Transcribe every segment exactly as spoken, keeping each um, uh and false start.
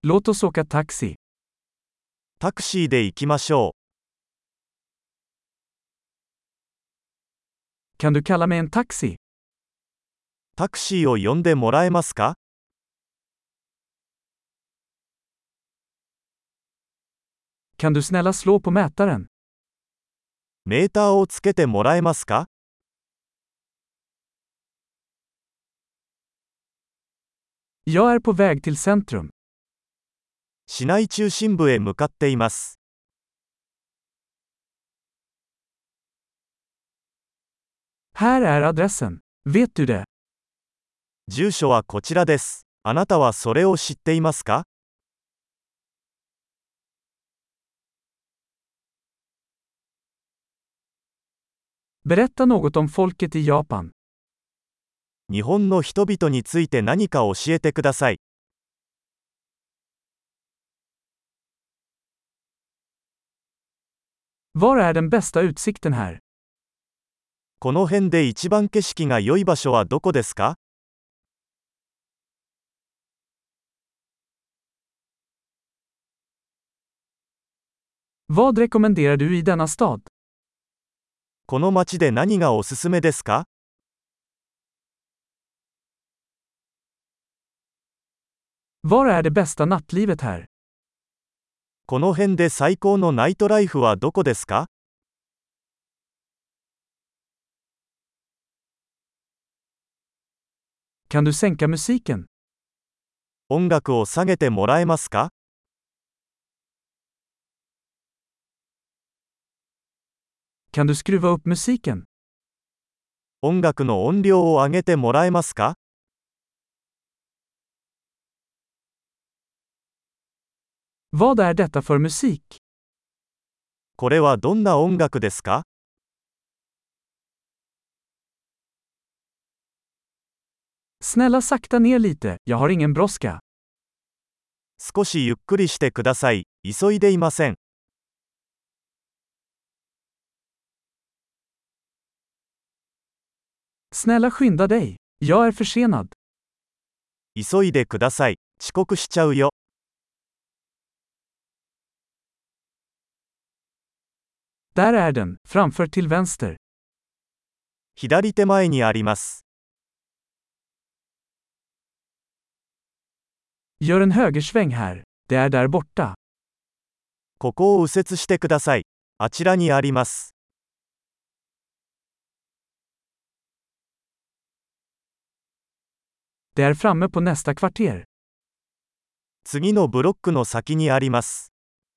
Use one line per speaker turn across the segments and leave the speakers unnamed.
Låt oss åka taxi.
タクシーで行きましょ
Kan du kalla mig en taxi?
う。タクシーを呼んでもらえますか？
Kan du snälla slå på mätaren?
メーターをつけてもらえますか？
Jag är på väg till centrum.
市内中心部へ向かっています。
Här är adressen. Vet du det?
住所はこちらです。あなたはそれを知っていますか？
Berätta något om folket i Japan.
日本の人々について何か教えてください。
Var är den bästa utsikten här?
この辺で一番景色が良い場所はどこですか？
Vad rekommenderar du i denna stad?
この街で何がおすすめですか？
Var är det bästa nattlivet här?
この辺で最高のナイトライフはどこですか？
Kan du sänka musiken?
音楽を下げてもらえますか？
Kan du skruva upp musiken?
音楽の音量を上げてもらえますか？
Vad är detta för musik?
これはどんな音楽ですか？
Snälla sakta ner lite, jag har ingen brådska.
少しゆっくりしてください。急いでいません。
Snälla skynda dig. Jag är försenad.
急いでください。遅刻しちゃうよ。
Där är den, framför till vänster.
左手前にあります。
Gör en högersväng här. Det är där borta.
ここを右折してください。あちらにあります。
Det är framme på nästa kvarter.
次のブロックの先にあります。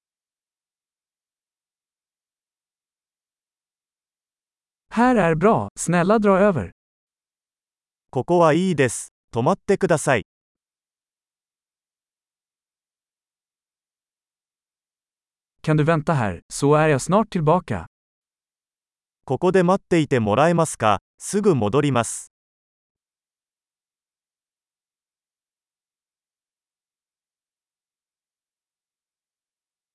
Här är bra, snälla dra över.
ここはいいです。止まってください。
Kan du vänta här, så är jag snart tillbaka.
ここで待っていてもらえますか？すぐ戻ります。